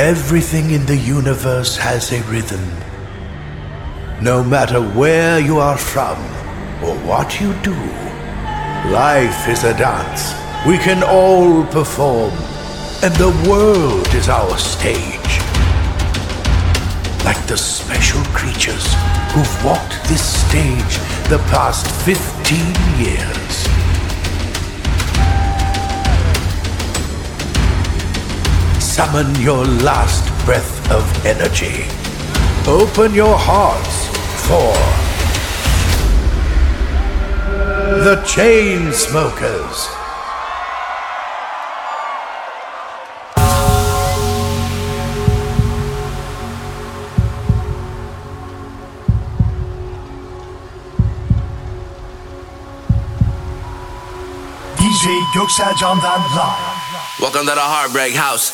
Everything in the universe has a rhythm. No matter where you are from or what you do, life is a dance. We can all perform, and the world is our stage. Like the special creatures who've walked this stage the past 15 years. Summon your last breath of energy. Open your hearts for the Chainsmokers. DJ Göksel Can'dan live. Welcome to the Heartbreak House.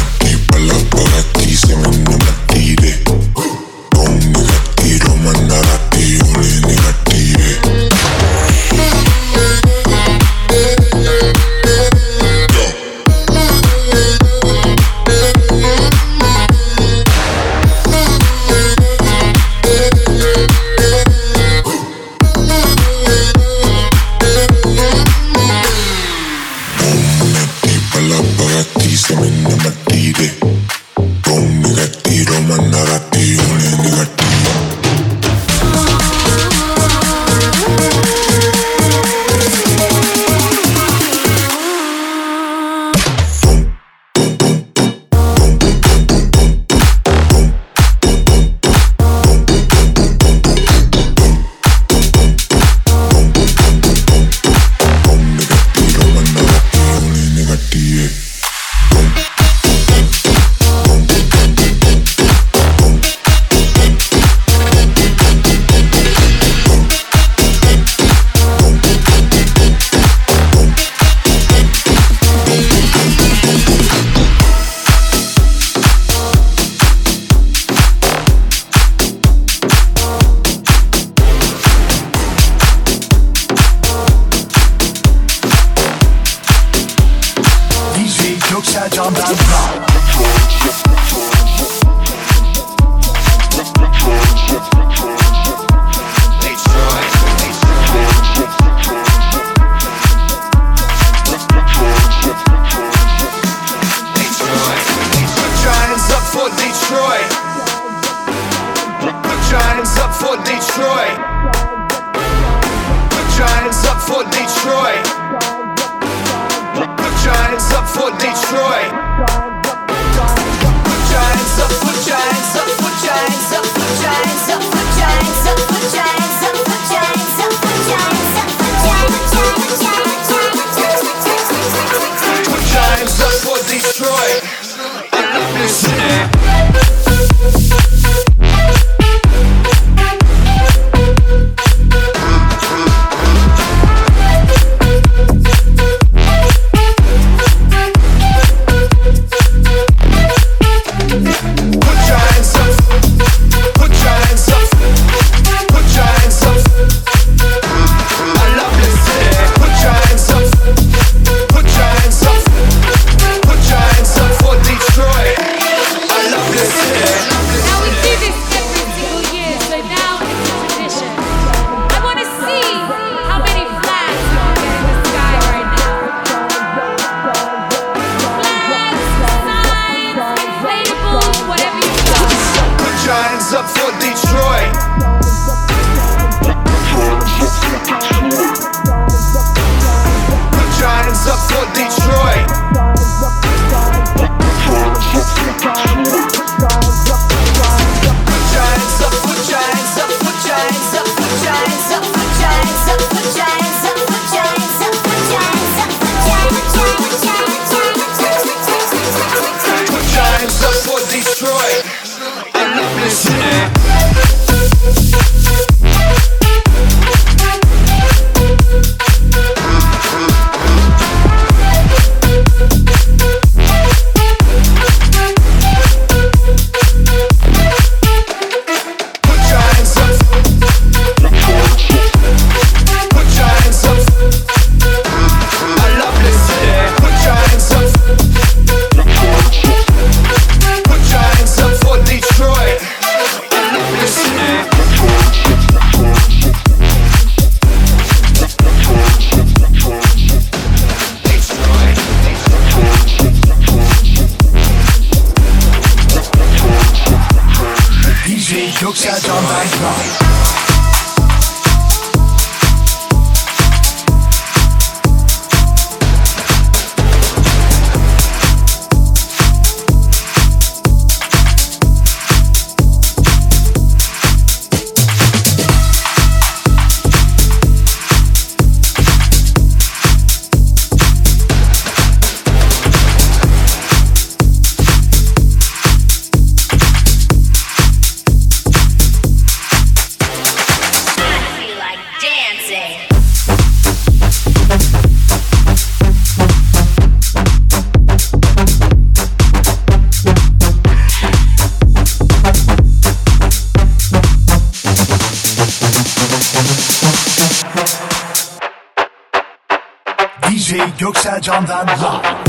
Mandara Detroit. Put your hands up for Detroit. Put your hands up for Detroit. Put your hands up for Detroit. Put your hands up, put your hands up, put your hands up, put your hands up, put your hands up, put your hands up, put your hands up, put your hands up, put your hands up for Detroit. I love this city. Göksel Can'dan live.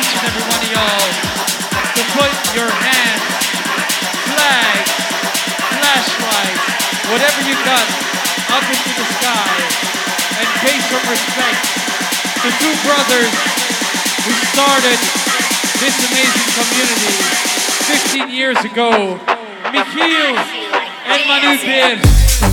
Put your hands, flag, whatever you got up into the sky and pay some respect to two brothers who started this amazing community 15 years ago, Michiel and Manu Beer.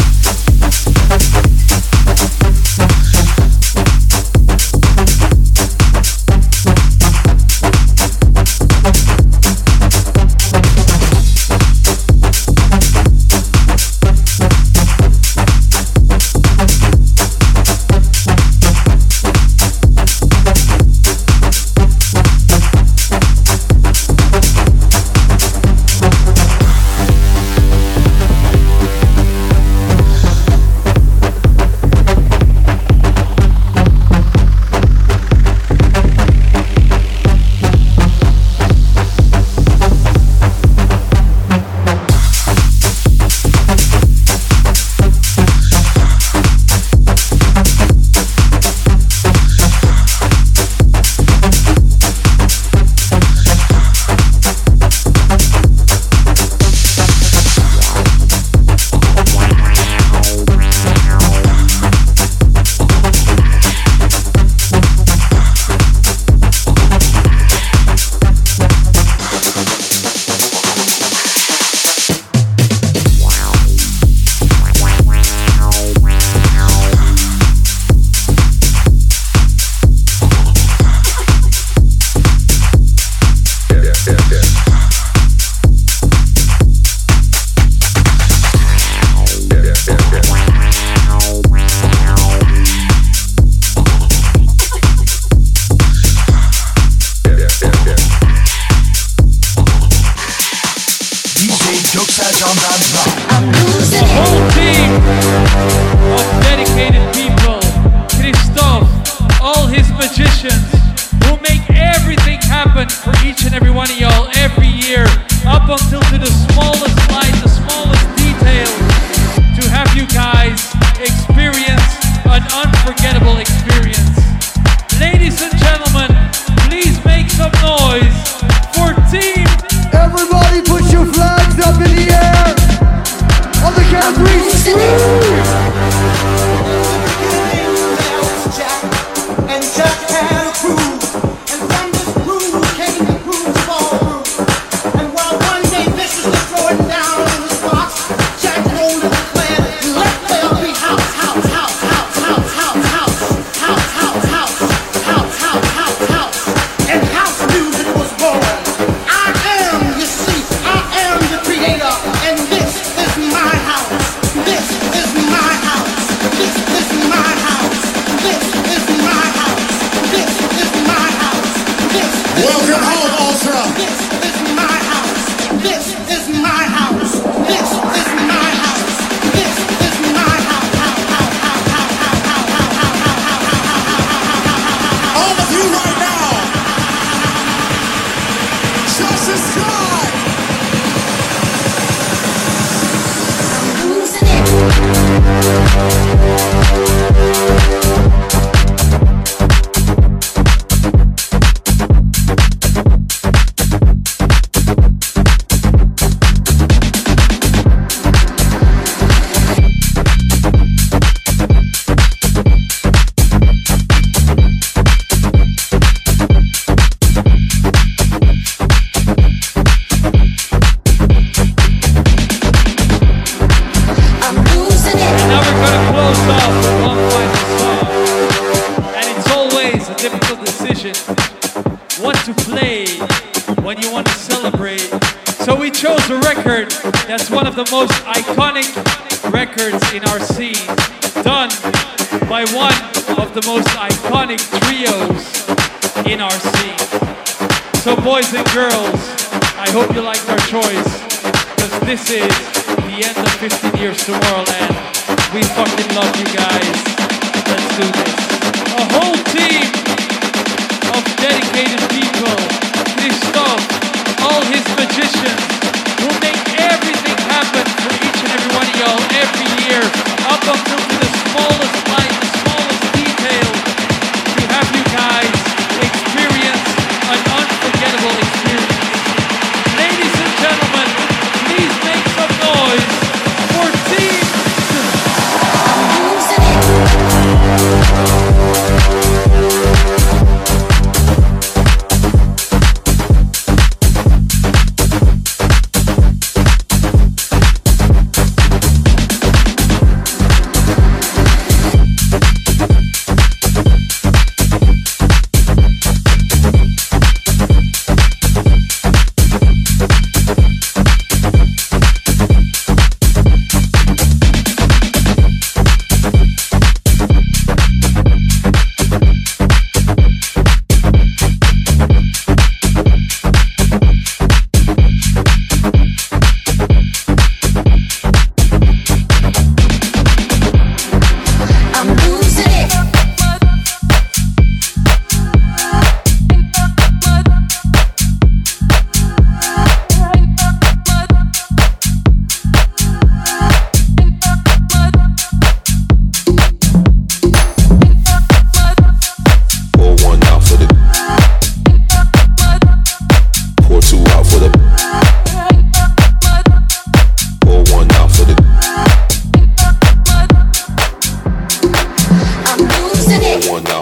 The most iconic records in our scene, done by one of the most iconic trios in our scene. So boys and girls, I hope you liked our choice, because this is the end of 15 Years to Tomorrowland. We fucking love you guys. Let's do this. A whole team of dedicated people, Christoph, all his magicians, will make everything happen for each and every one of y'all every year, up until to the smallest light, the smallest detail, to have you guys experience an unforgettable experience. Ladies and gentlemen, please make some noise for Team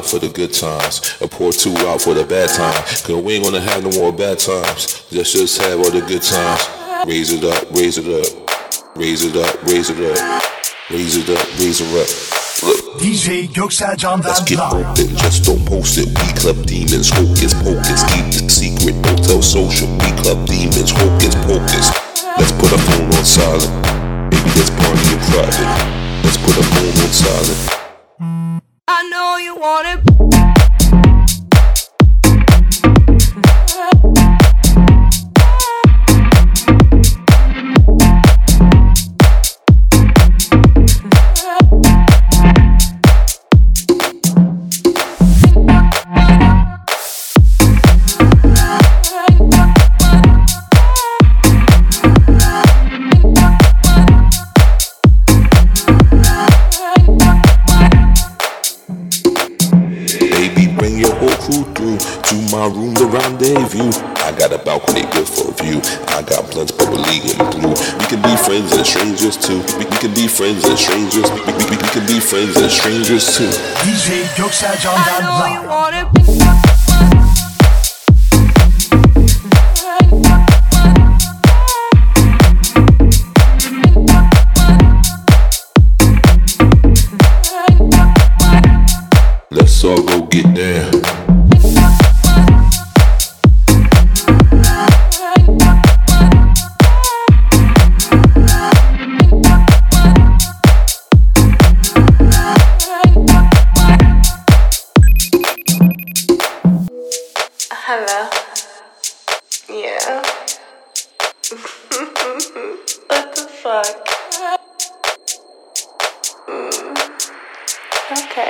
for the good times and pour two out for the bad times. Cause we ain't gonna have no more bad times. Let's just have all the good times. Raise it up, raise it up. Raise it up, raise it up. Raise it up, raise it up. Look. DJ Göksel Can'dan Let's get live. open, just don't post it. We club demons, hocus pocus. Keep the secret, don't tell social. We club demons, hocus pocus. Let's put our phone on silent. Maybe let's party in private. Let's put our phone on silent. I know you want it. My room, the rendezvous. I got a balcony good for a view. I got blunts bubbly and blue. We can be friends and strangers too. We can be friends and strangers. We can be friends and strangers too. DJ Göksel Can'dan live. Let's all go get down. Hello. Yeah. What the fuck? Okay.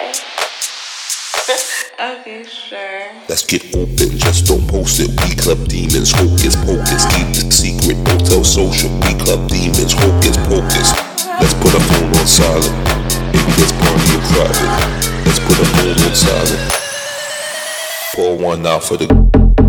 Okay, sure. Let's get open, just don't post it. We club demons, hocus pocus. Keep the secret, don't tell social. We club demons, hocus pocus. Let's put our phone on silent. Maybe let's party in private. Let's put our phone on silent. Pour one out for the.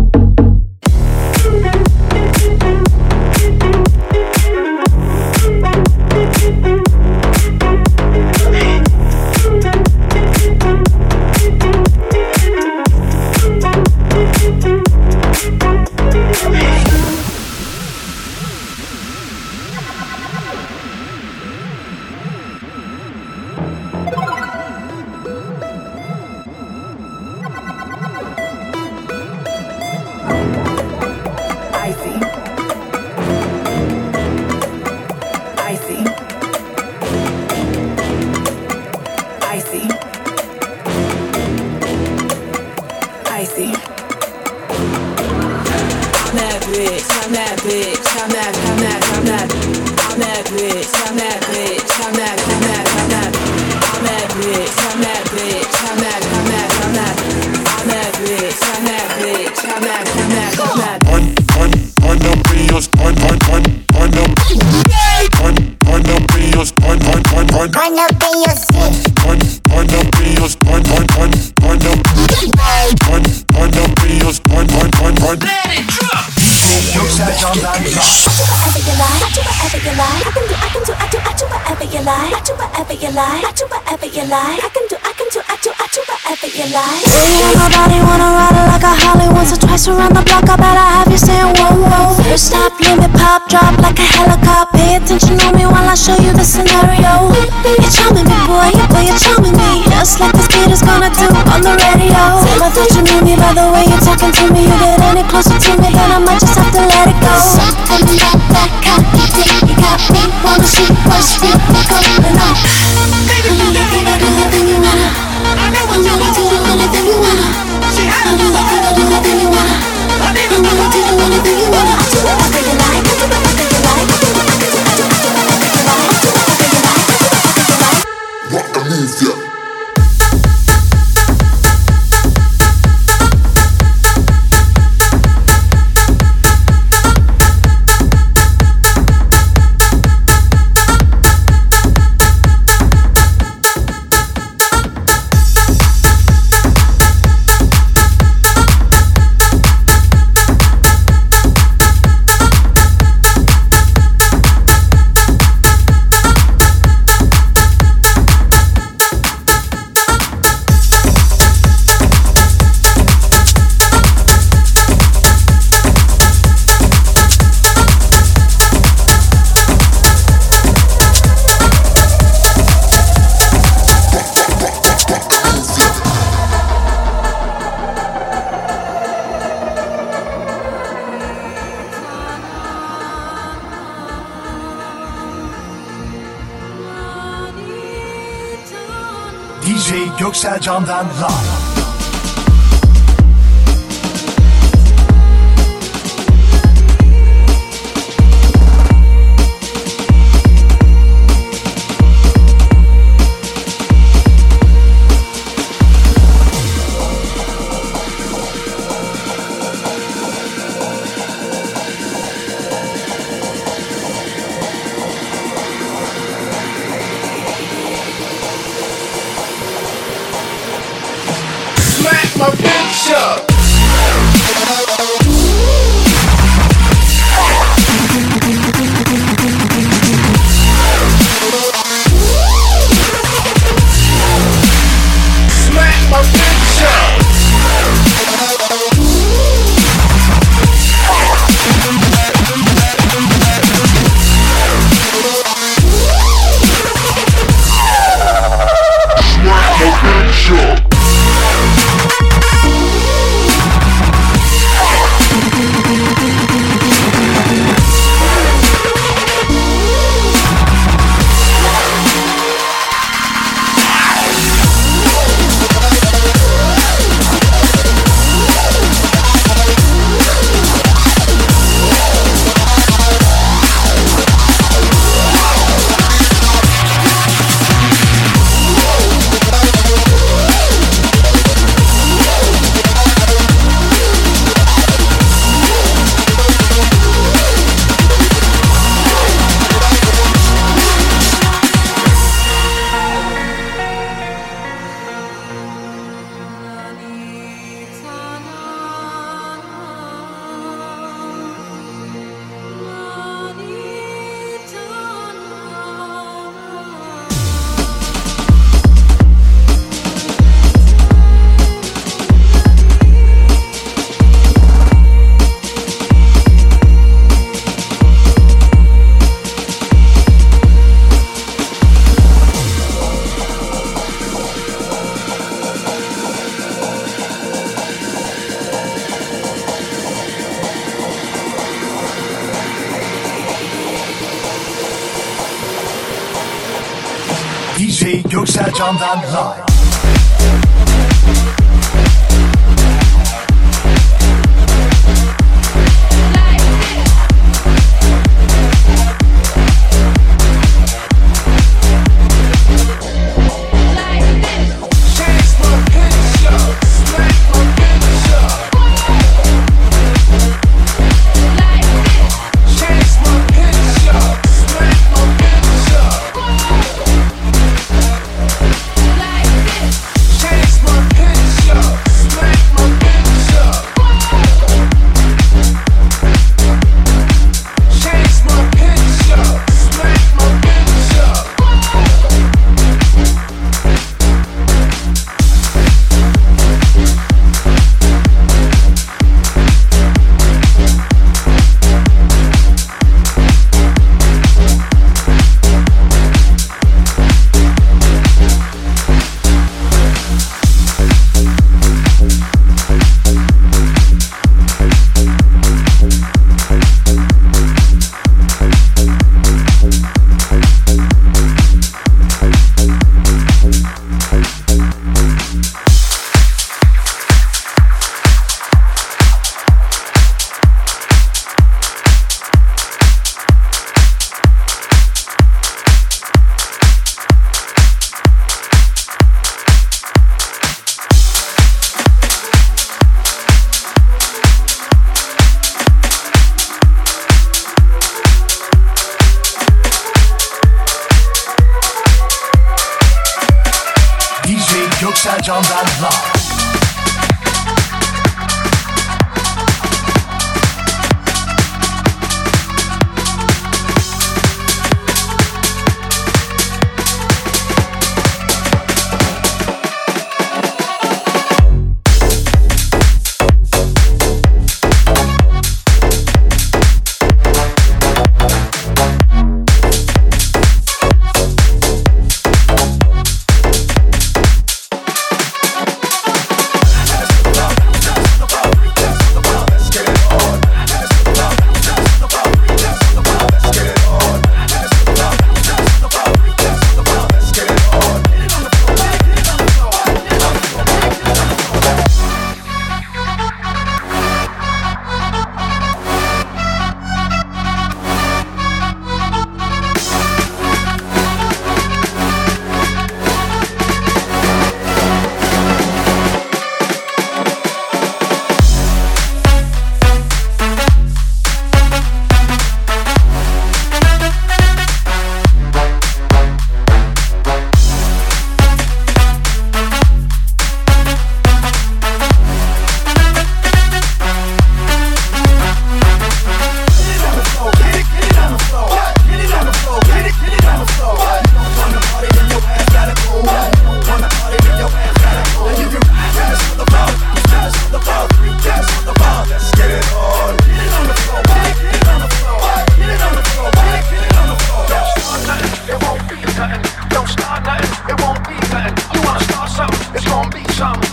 Around the block, I better have you saying whoa, whoa. First stop, let me pop, drop like a helicopter. Pay attention on me while I show you the scenario. You're charming me, boy, you're charming me. Just like this kid is gonna do on the radio. Tell me that you knew me by the way you're talking to me. You get any closer to me, then I might just have to let it go. Something about that copy dick, you got me. Wanna see what's deep, going on. Baby, you can do anything you wanna. I know what you want to do, anything you wanna. See, I don't know what to do, anything you wanna. I don't know what to do, anything you wanna. I do whatever you like, I do whatever you like. I do whatever you like, I do whatever you like. I do whatever you like, I do whatever you like. Rock the move, yeah. DJ Göksel Can'dan live. My picture. Smack my picture. DJ Göksel Can'dan live. Göksel Can'dan live.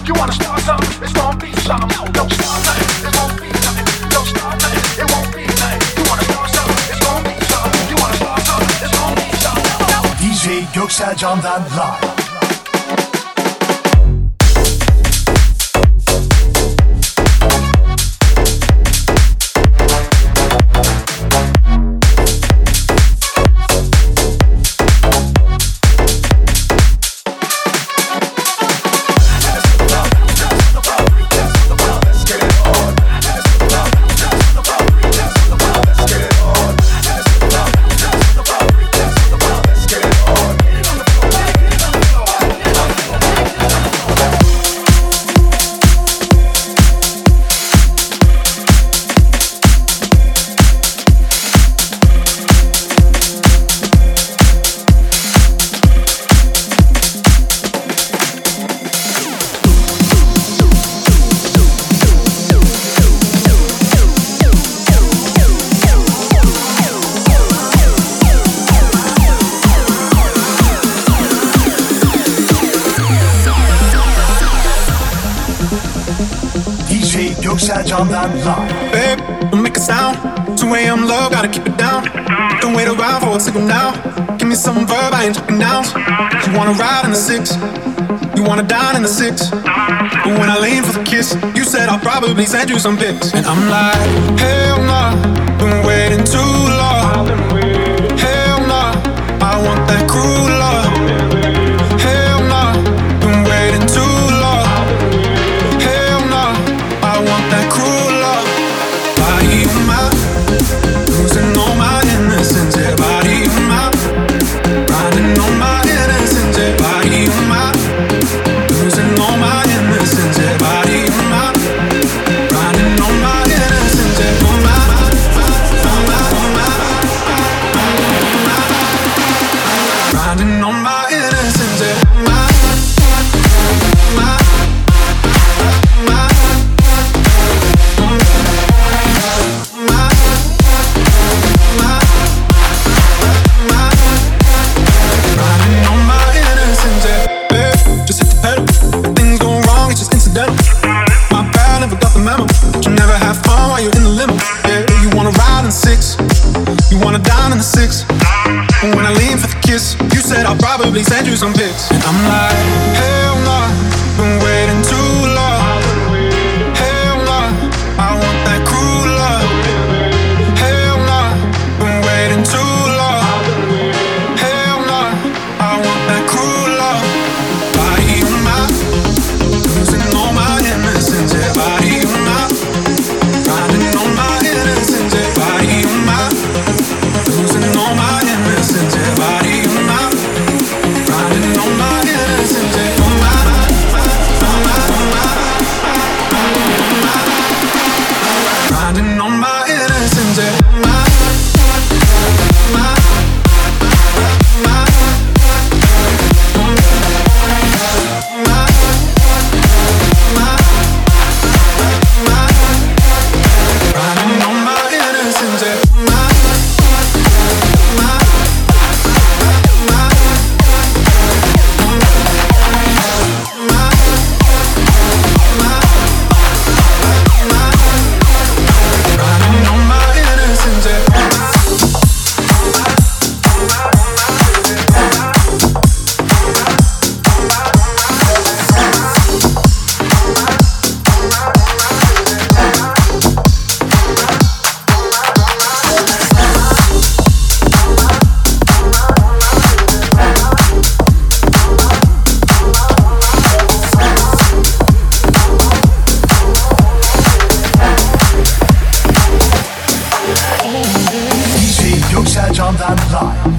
You wanna start something? It's gonna be something. Don't start nothing. It won't be nothing. Don't start nothing. It won't be nothing. You wanna start something? It's gonna be something. You wanna start something? It's gonna be something. DJ Göksel Can'dan live. Göksel Can'dan live. Babe, don't make a sound. 2 a.m. love, gotta keep it down. Don't wait around for a signal now. Give me some verb, I ain't talking nouns. You wanna ride in the 6, you wanna dine in the 6. But when I lean for the kiss, you said I'll probably send you some pics. And I'm like, hell nah, been waiting too long. Hell nah, I want that cruel love. Hell nah, been waiting too long. Hell nah, I want that cruel love. Body of mine, losing all my innocence. Yeah, body of mine, riding on my innocence. Yeah, body of mine, losing all my innocence. Yeah, body of mine, riding on my innocence. Yeah, oh my, oh my, oh my, riding on my innocence. Yeah, my, my, my. You said I'll probably send you some pics. And I'm like, hell nah, been waiting too long. Hell nah, I want that cruel love. Hell nah, been waiting too long. Hell nah, I want that cruel love. Body of mine, losing all my innocence. Yeah, body of mine, riding on my innocence. Yeah, body of mine, losing all my innocence. Yeah, body of mine, riding on my innocence. Yeah, oh my, oh my, oh my, riding on my innocence. Yeah, my, my, my, riding on my innocence. Yeah, my, DJ Göksel Can'dan live.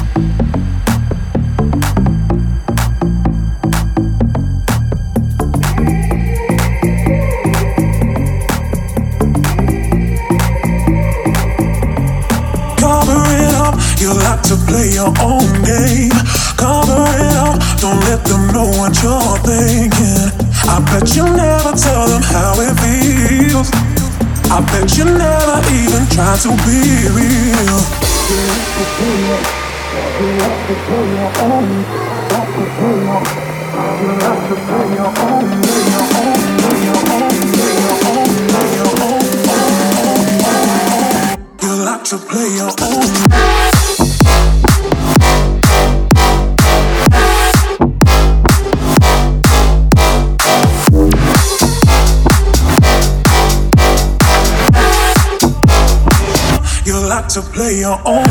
Cover it up, you like to play your own game. Cover it up, don't let them know what you're thinking. I bet you never tell them how it feels. I bet you never even try to be real. You like to play your own. To play your own. You like to play your own.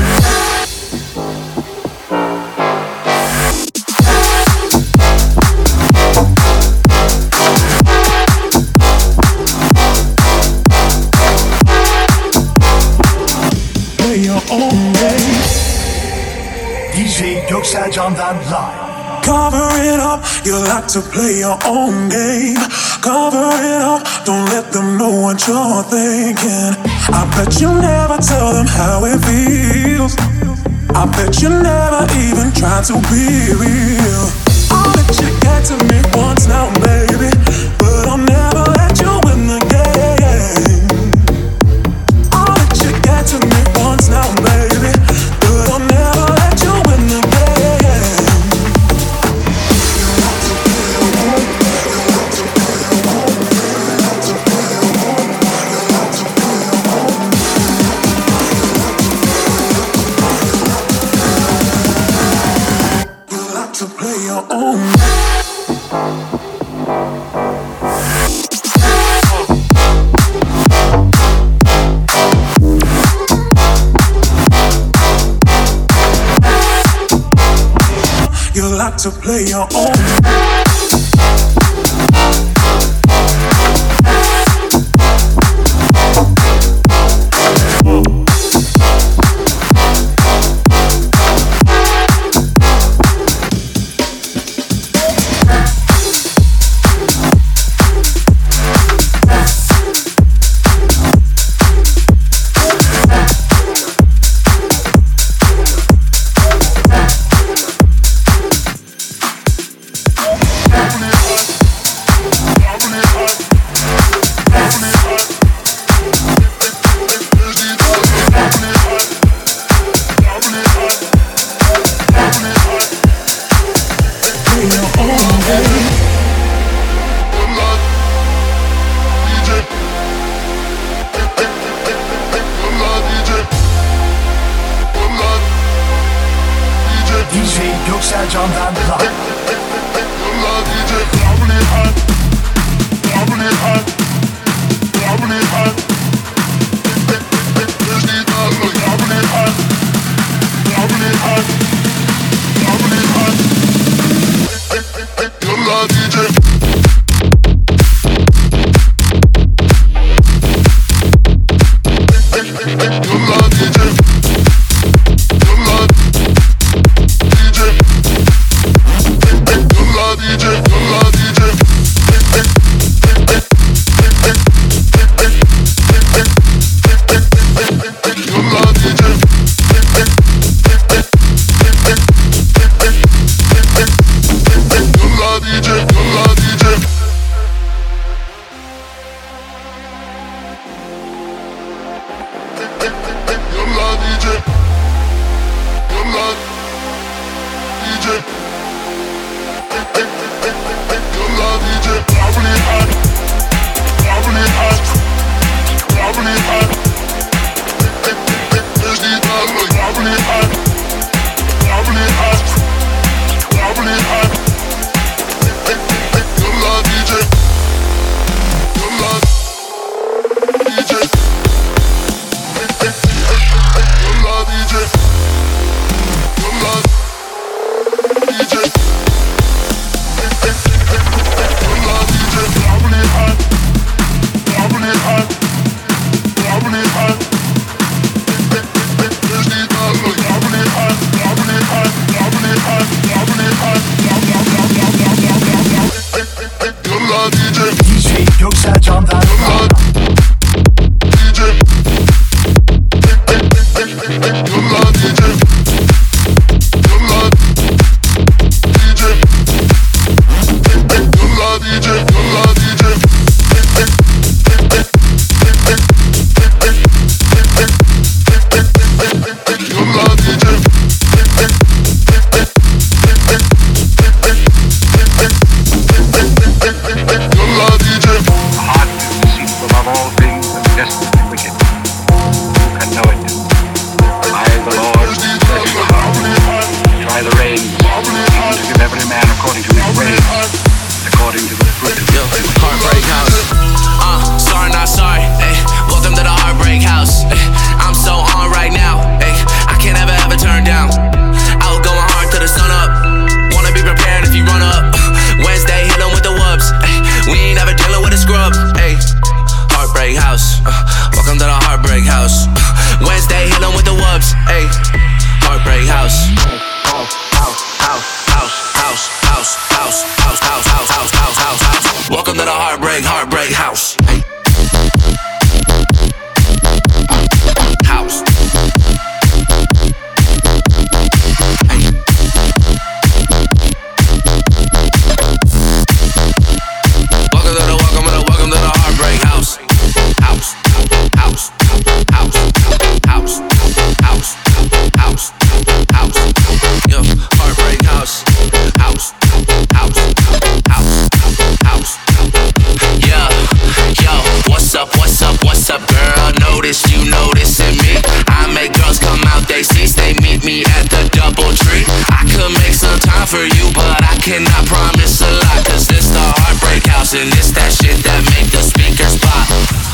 DJ Göksel Can'dan live. Cover it up, you like to play your own game. Cover it up, don't let them know what you're thinking. I bet you never tell them how it feels. I bet you never even try to be real. I'll let you get to me once now, baby, but I'll never let you win the game. I'll let you get to me once now, baby, but I'll never let you win the game. To play your own. You like to play your own. Göksel Can'dan live. DJ Göksel Can'dan to the heartbreak house. House. Welcome to the heartbreak house. House. House. House. House. House. House. House. Yo, heartbreak house. House. House. House. House. Yeah. Yo, what's up, girl? Notice you noticing me. I make girls come out they seats, they meet me at the DoubleTree. I could make some time for you, but I cannot promise a lot. Cause this the heartbreak house, and this that shit that make the speakers pop.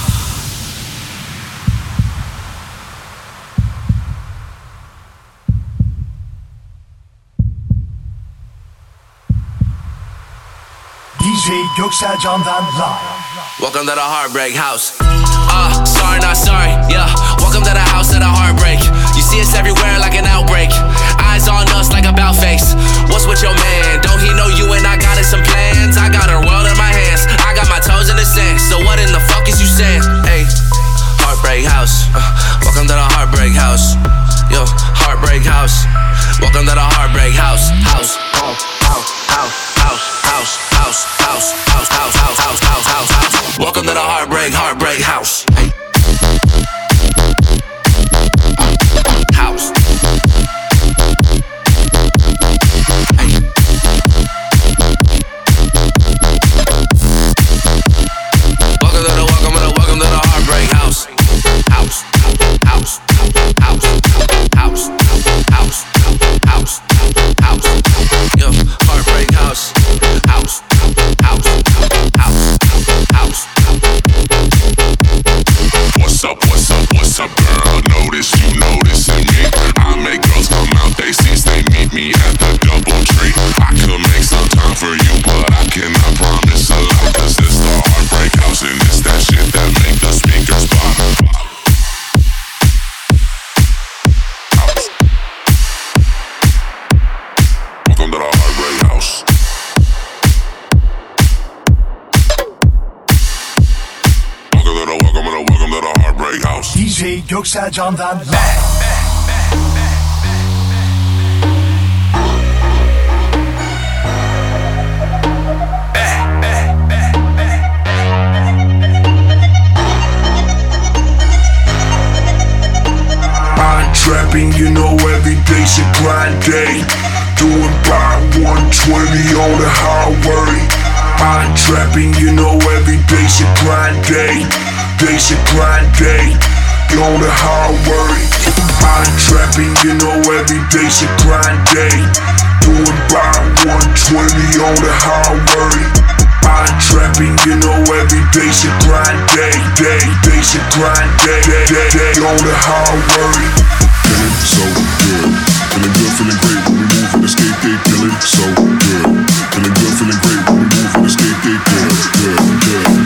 DJ Göksel Can'dan live. Welcome to the heartbreak house. Sorry, not sorry, yeah. Welcome to the house of the heartbreak. You see us everywhere like an outbreak. Eyes on us like a bout face. What's with your man? Don't he know you and I got some plans? I got her world in my hands. I got my toes in the sand. So what in the fuck is you saying? Hey, heartbreak house. Welcome to the heartbreak house. Yo, heartbreak house. Welcome to the heartbreak house. House. House. House. House. House. House. House. House. House. House. House. House. House. House. Welcome to the heartbreak house. Hey. House. Hey. Welcome to the heartbreak house. House. House. House. House. House. House. House. Yo, heartbreak house. House. House. House. House. What's up, girl? Notice you noticing me. I make girls come out they seats, they meet me at the DoubleTree. I could make some time for you, but I cannot promise a lot. Cause this the heartbreak house, and it's that shit that make the speakers pop. Welcome to the heartbreak house. Welcome to the heartbreak house. DJ Göksel Can'dan live. I'm trapping, you know every day's a grind day. Doing by 120 on the highway. I'm trapping, you know every day's a grind day. Day's a grind day, on the highway. I'm trapping, you know every day's a grind day. Doing by 120 on the highway. I'm trapping, you know every day's a grind day. Day's a grind day, on the highway. Feeling so good, feeling good, feeling great when we move and escape, they feeling so good. Feeling good, feeling great when we move and escape, they good.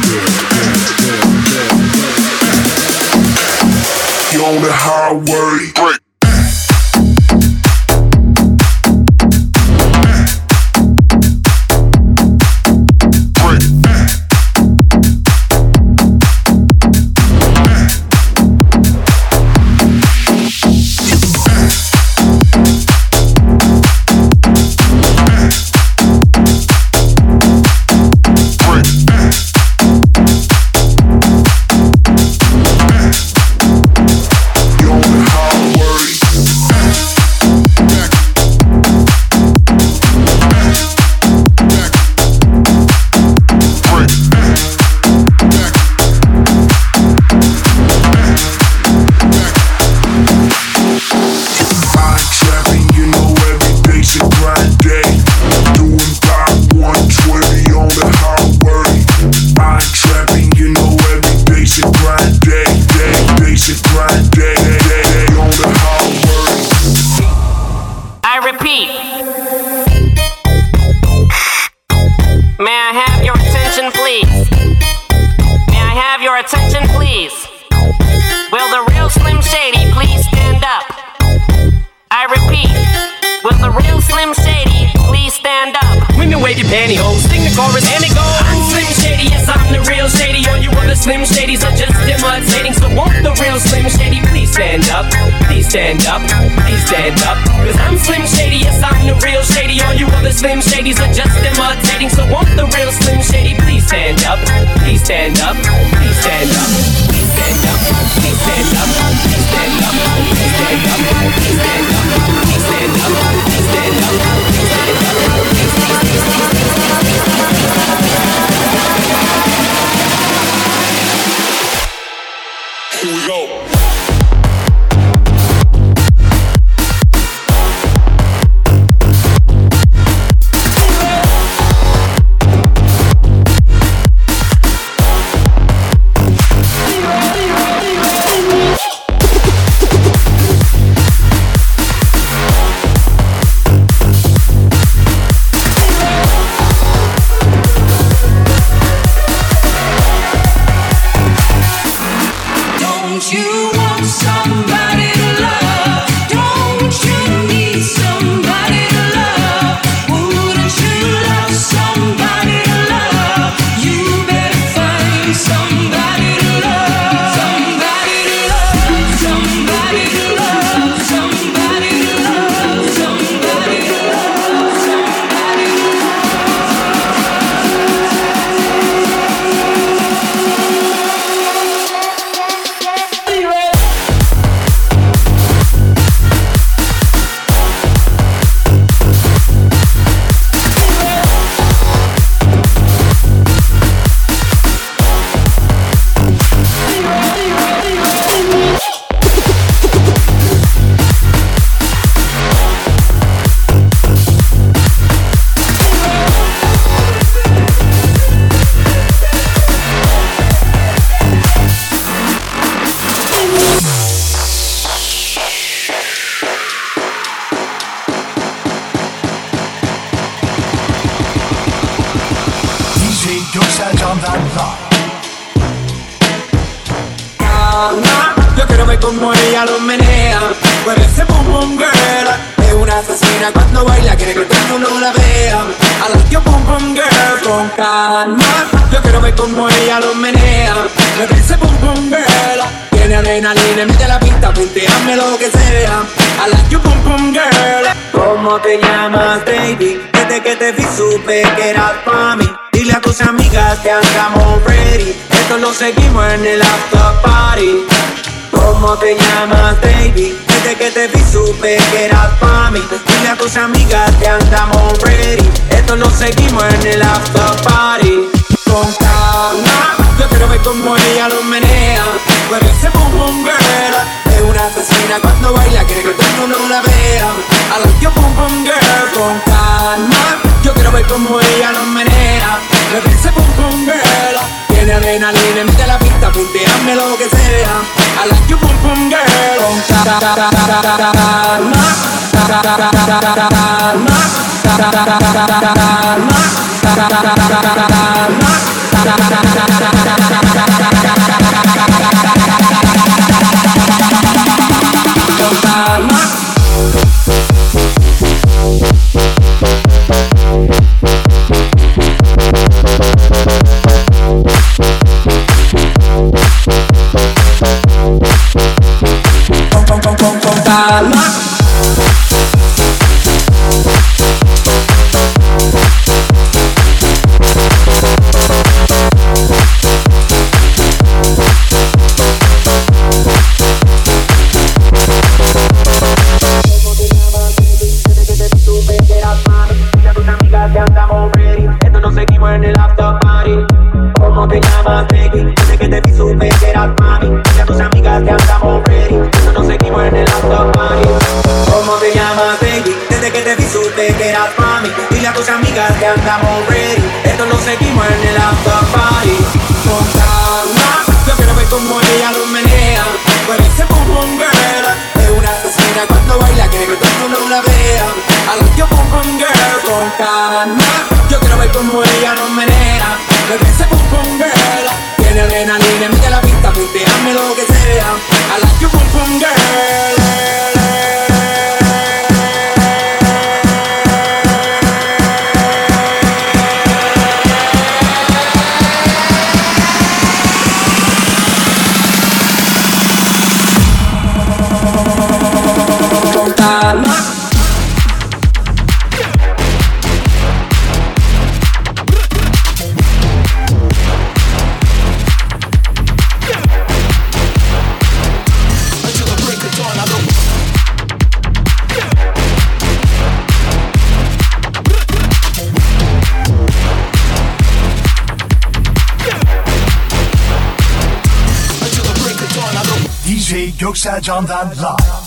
You're on the highway. Break. Wait rape your pantyhose. Sing the chorus and it goes. I'm Slim Shady, yes I'm the real Shady. All you other Slim Shadys are just imitating. So won't the real Slim Shady please stand up? Please stand up, please stand up. Cause I'm Slim Shady, yes I'm the real Shady. All you other Slim Shadys are just imitating. So won't the real Slim Shady please stand up? Please stand up, please stand up. Please stand up, please stand up, please stand up, please stand up, please stand up, please stand up, please stand up, please stand up, please stand up. Here we go. Yo quiero ver cómo ella lo menea. Mueve ese boom boom girl. Es una asesina cuando baila, quiere que todo el mundo la vea. I like your boom boom girl con calma. Yo quiero ver cómo ella lo menea. Mueve ese boom boom girl. Tiene adrenalina, mete la pista, punteame lo que sea. I like your boom boom girl. ¿Cómo te llamas, baby? Desde que te vi supe que eras pa' mí. Dile a tus amigas que andamos ready. Esto lo seguimos en el after party. ¿Cómo te llamas, baby? Desde que te vi supe que eras pa' mí. Dile a tus amigas que andamos ready. Esto lo seguimos en el after party. Con calma, yo quiero ver cómo ella lo menea. Pero ese boom boom girl es una asesina cuando baila, quiere que todo el mundo la vea. I like your boom boom girl con calma. Yo quiero ver cómo ella lo menea. Pero ese boom boom girl tiene adrenalina, mete la pista, punteame lo que sea. I like your boom boom girl con que andamos ready. Esto lo seguimos en el after party. Con calma, yo quiero ver cómo ella lo menea. Pero ese boom boom girl es una asesina cuando baila, quiere que todo el mundo la vea. I like your boom boom girl. Con calma, yo quiero ver cómo ella lo menea. Pero ese boom boom girl tiene adrenalina, mete la pista, punteame lo que sea. I like your boom boom girl. Göksel Can'dan live.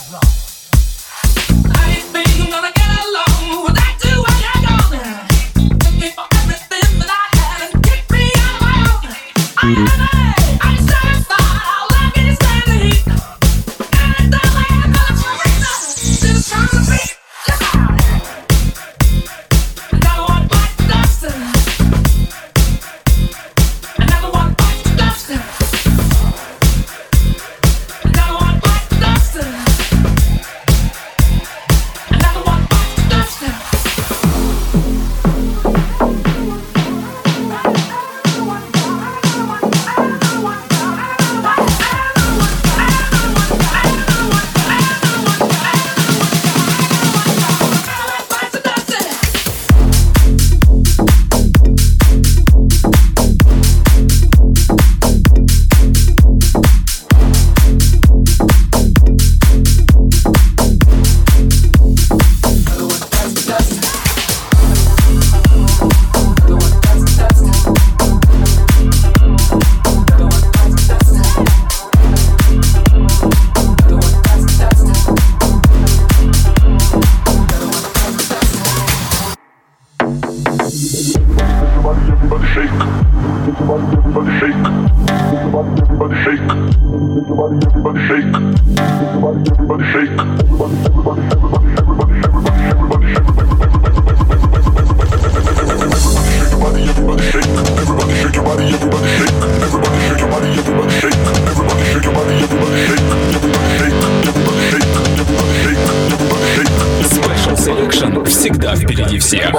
Всегда впереди всех.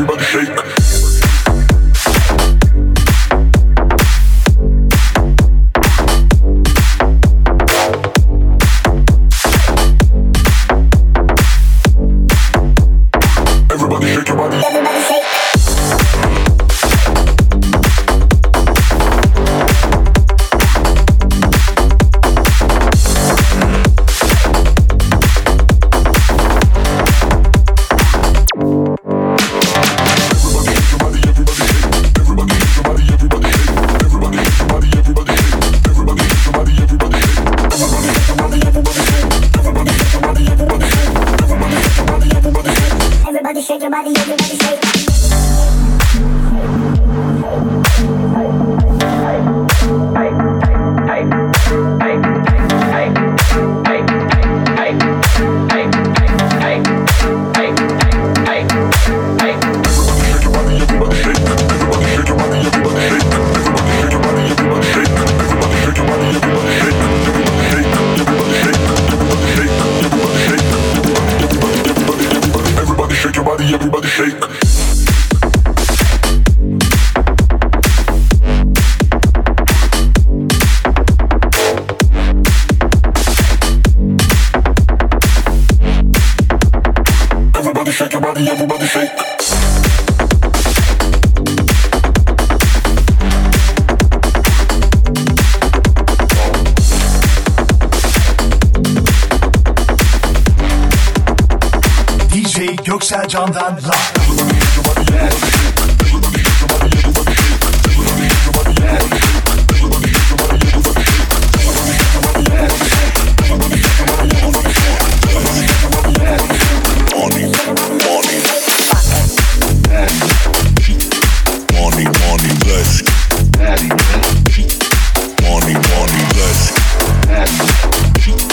DJ Göksel Can'dan live.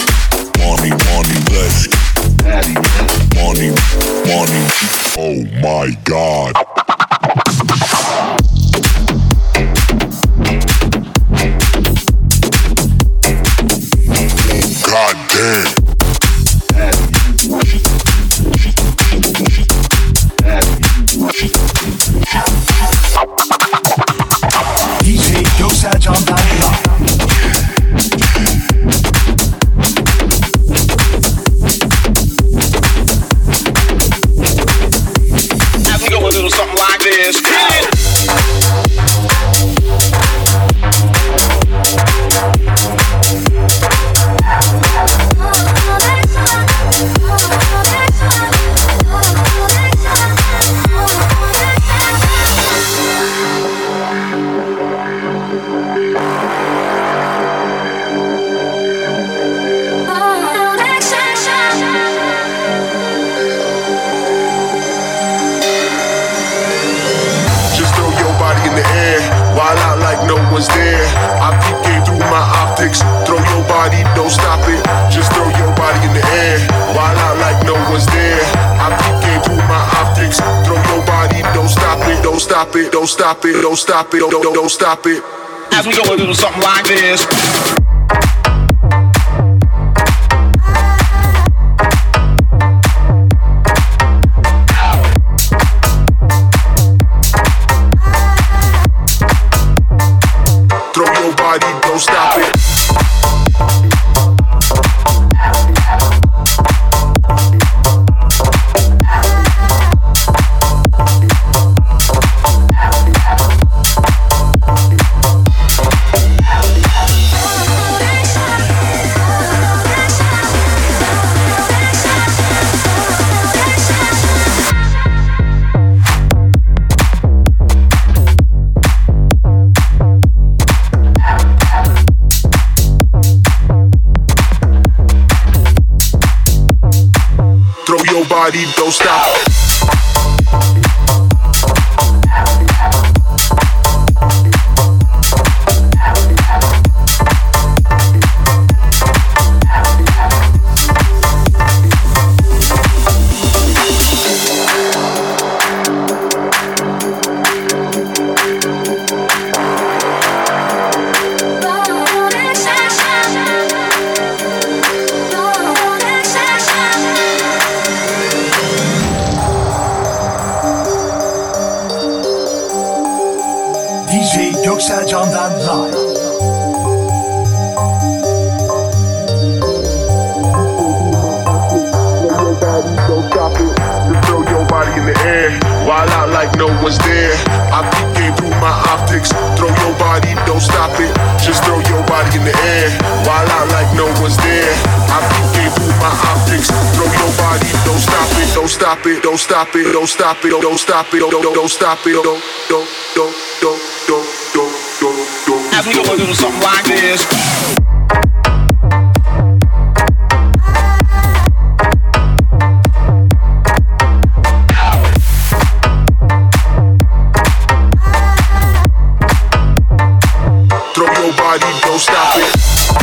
Oh my wild out like no one's there. I peep game through my optics. Throw your body, don't stop it. Just throw your body in the air. Wild out like no one's there. I peep game through my optics. Throw your body, don't stop it. Don't stop it. Don't stop it. Don't stop it. Don't stop it. As we go a little something like this. Don't stop it. Body, don't stop. Göksel Can'dan live. Don't stop it. Just throw your body in the air. Wild out like no one's there. I peep game through my optics. Throw your body, don't stop it. Just throw your body in the air. Wild out like no one's there. I peep game through my optics. Throw your body, don't stop it. Don't stop it. Don't stop it. Don't stop it. Don't stop it. Don't stop it. Don't. As we go a little something like this. Throw your body, don't stop it.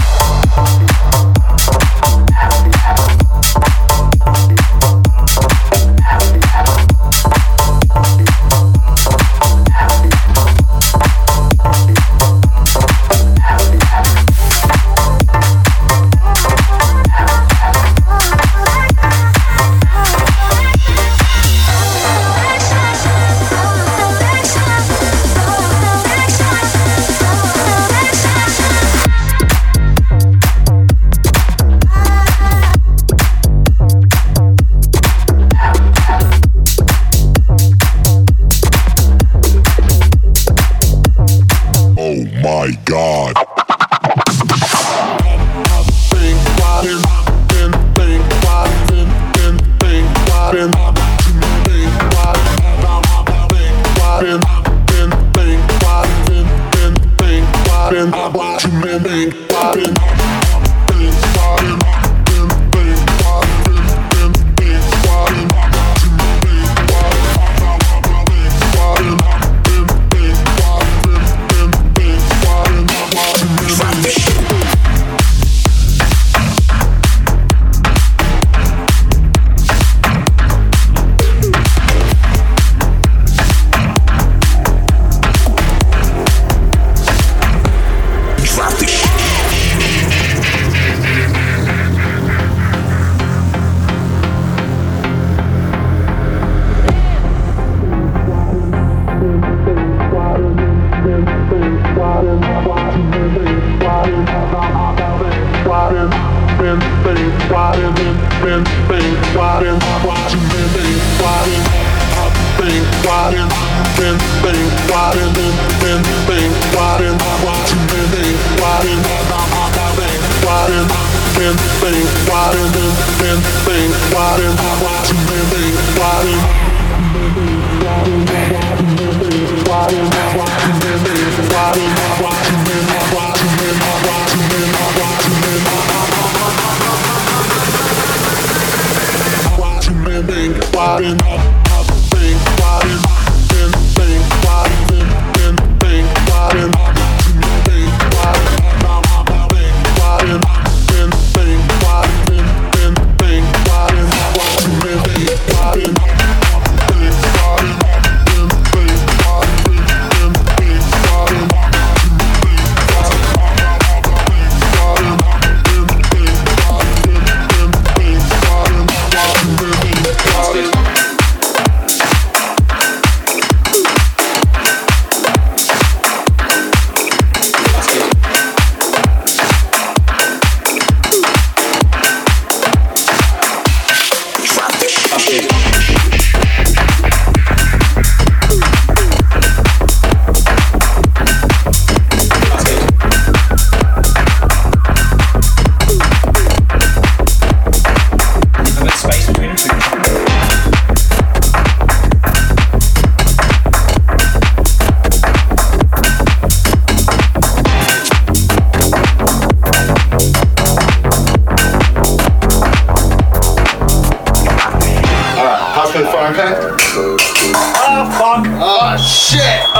My God.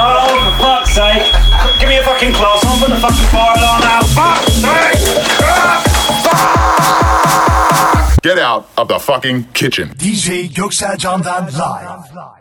Oh, for fuck's sake. Give me a fucking close on, put the fucking fire alarm out. Fuck's sake! Get out of the fucking kitchen. DJ Göksel Can'dan live.